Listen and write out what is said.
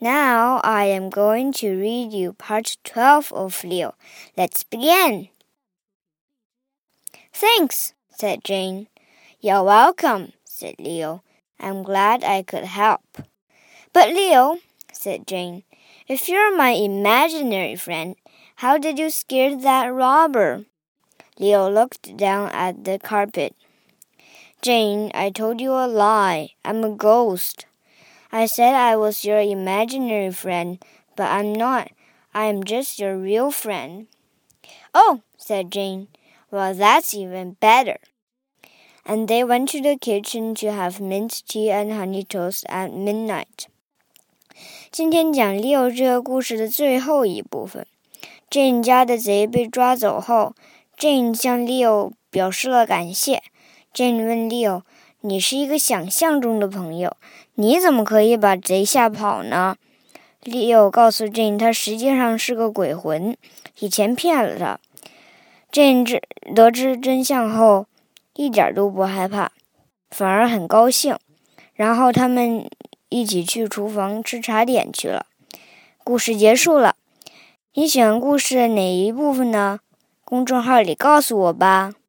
Now I am going to read you part 12 of Leo. Let's begin. Thanks, said Jane. You're welcome, said Leo. I'm glad I could help. But Leo, said Jane, if you're my imaginary friend, how did you scare that robber? Leo looked down at the carpet. Jane, I told you a lie. I'm a ghost. I said I was your imaginary friend, but I'm not. I am just your real friend. Oh, said Jane. Well, that's even better. And they went to the kitchen to have mint tea and honey toast at midnight. 今天讲 Leo 这个故事的最后一部分。Jane 家的贼被抓走后， Jane 向 Leo 表示了感谢。Jane 问 Leo， 你是一个想象中的朋友，你怎么可以把贼吓跑呢？ Leo 告诉 Jane 他实际上是个鬼魂，以前骗了他。Jane 得知真相后一点都不害怕，反而很高兴。然后他们一起去厨房吃茶点去了。故事结束了。你喜欢故事的哪一部分呢？公众号里告诉我吧。